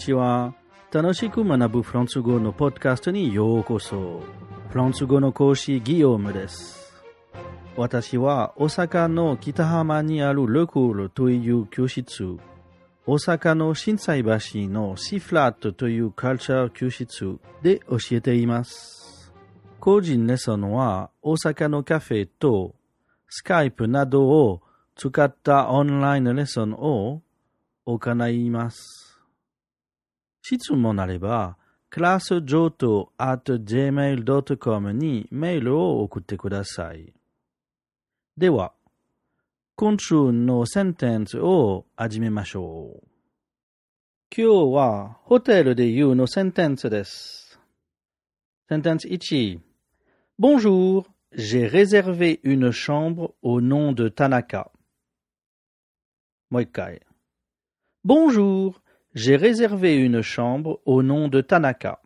ちは。楽しく学ぶフランス語のポッドキャストにようこそ。フランス語の講師ギヨームです。私は大阪の北浜にあるルクールという教室、大阪の心斎橋のシフラットというカルチャー教室で教えています。個人レッスンは大阪のカフェとスカイプなどを使ったオンラインレッスンを行います。質問あれば、クラス上等 @gmail.com にメールを送ってください。では、今週のセンテンスを始めましょう。今日はホテルで言うのセンテンスです。センテンス1。Bonjour, j'ai réservé une chambre au nom de Tanaka. もう一回。Bonjour, j'ai réservé une chambre au nom de Tanaka.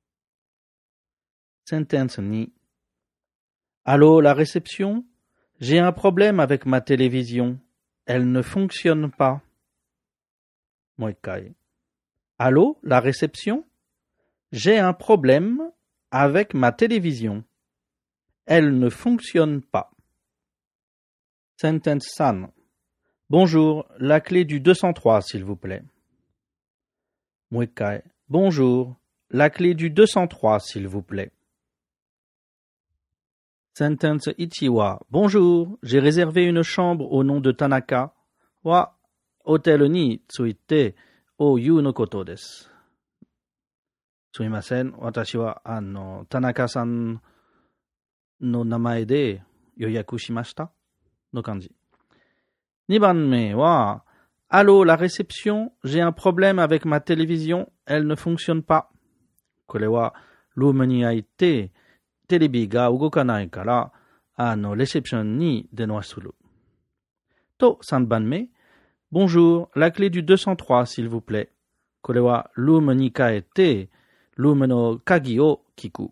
Sentence 2. Allô, la réception? J'ai un problème avec ma télévision. Elle ne fonctionne pas. もう一回。Allô, la réception? J'ai un problème avec ma télévision. Elle ne fonctionne pas. Sentence 3. Bonjour, la clé du 203, s'il vous plaît. もう一回。Bonjour, la clé du 203, s'il vous plaît. Sentence 1は、Bonjour, j'ai réservé une chambre au nom de Tanaka は、ホテルについてを言うのことです。すみません。私は、田中さんの名前で予約しましたの感じ。2番目は、Allô, la réception, j'ai un problème avec ma télévision, elle ne fonctionne pas. これは、ルームに入って、テレビが動かないから、レセプションに電話する。と、3番目、Bonjour, la clé du 203, s'il vous plaît. これは、ルームに帰って、ルームの鍵を聞く。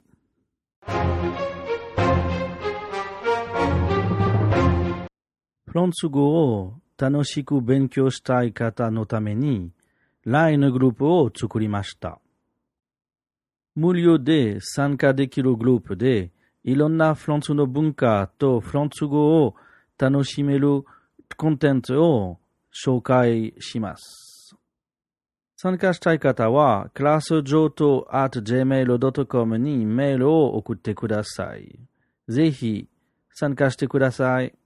フランス語を楽しく勉強したい方のために LINE グループを作りました。無料で参加できるグループでいろんなフランスの文化とフランス語を楽しめるコンテンツを紹介します。参加したい方はクラス上等 @gmail.com にメールを送ってください。ぜひ参加してください。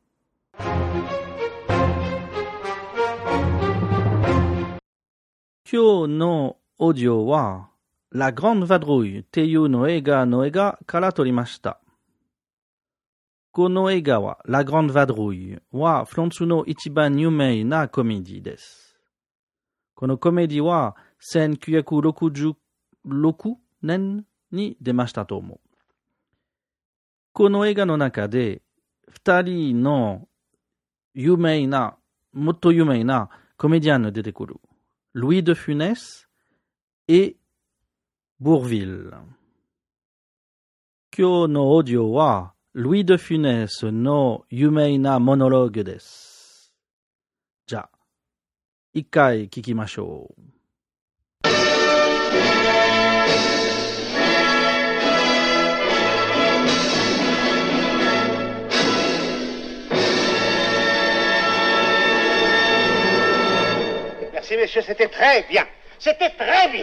今日のオーディオは、La Grande Vadrouille っていうの映画から撮りました。この映画は、La Grande Vadrouille はフランスの一番有名なコメディです。このコメディは1966年に出ましたと思う。この映画の中で、二人のもっと有名なコメディアンが出てくる。Louis de Funès et Bourvil。今日のオーディオは、Louis de Funès の有名なモノローグです。じゃあ、一回聞きましょう。 Merci, messieurs, c'était très bien. C'était très bien.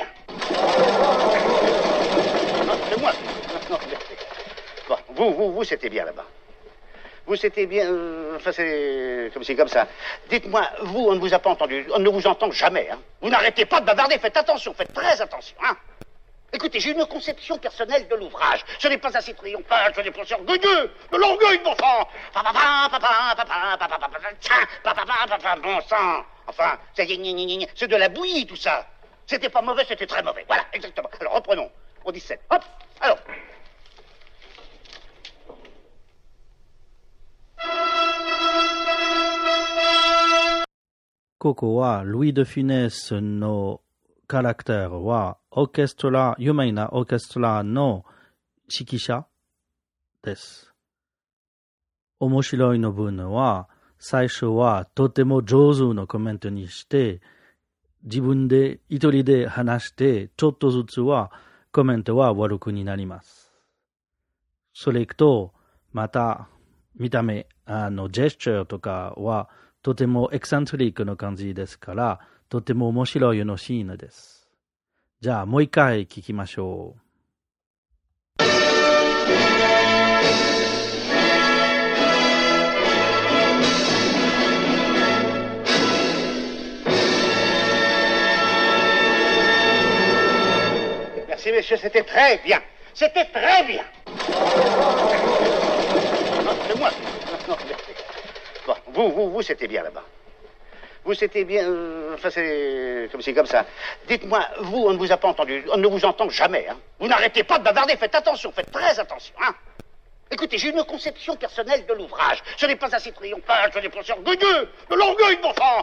Non, c'est moi. Non, bon, vous, c'était bien là-bas. Vous, c'était bien... enfin, c'est comme ça. Dites-moi, vous, on ne vous a pas entendu. On ne vous entend jamais, hein. Vous n'arrêtez pas de bavarder. Faites attention, faites très attention, hein. Écoutez, j'ai une conception personnelle de l'ouvrage. Ce n'est pas assez triomphal, ce n'est pas assez orgueilleux. De l'orgueil, bon sang. Bon sang. Enfin, c'est de la bouillie, tout ça. C'était pas mauvais, c'était très mauvais. Voilà, exactement. Alors, reprenons. Au 17. Hop, alors. Coco wa Louis de Funès no caractère wa orchestra, 有名なオーケストラの指揮者です。面白いの分は、最初はとても上手のコメントにして、 自分で一人で話して、ちょっとずつはコメントは悪くになります。それと、また、見た目、ジェスチャーとかは、とてもエクサントリックな感じですから、とても面白いのシーンです。じゃあ、もう一回聞きましょう。 Merci, messieurs, c'était très bien. C'était très bien. Non, c'est moi. Non, bon, vous, c'était bien là-bas. Vous, c'était bien... enfin, c'est comme ça. Dites-moi, vous, on ne vous a pas entendu. On ne vous entend jamais, hein. Vous n'arrêtez pas de bavarder. Faites attention, faites très attention, hein. Écoutez, j'ai une conception personnelle de l'ouvrage. Ce n'est pas assez triomphal, ce n'est pas assez orgueilleux. De l'orgueil, bon sang.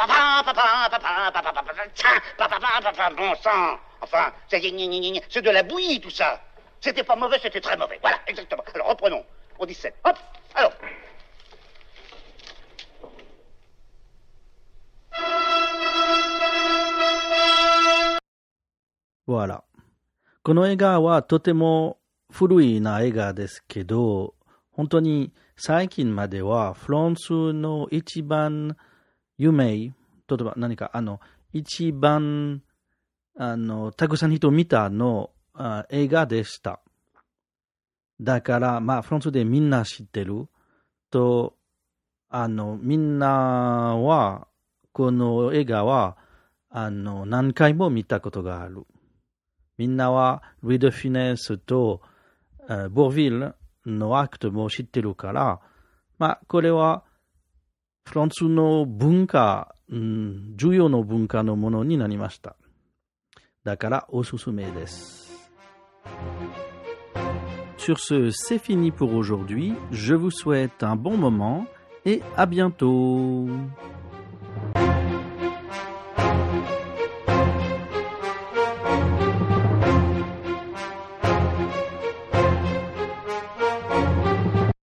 Bon sang. Enfin, c'est de la bouillie, tout ça. C'était pas mauvais, c'était très mauvais. Voilà, exactement. Alors, reprenons. On dit 7. Hop, alors. Voilà. この映画はとても古いな映画ですけど、本当に最近まではフランスの一番有名、例えば何か一番たくさん人見たの映画でした。だから、フランスでみんな知ってると、みんなは、この映画は、何回も見たことがある。みんなは、ルイ・ド・フィネスと、ボーヴィルのアクトも知ってるから、これは、フランスの文化、重要な文化のものになりました。だからおすすめです。Sur ce, c'est fini pour aujourd'hui. Je vous souhaite un bon moment et à bientôt.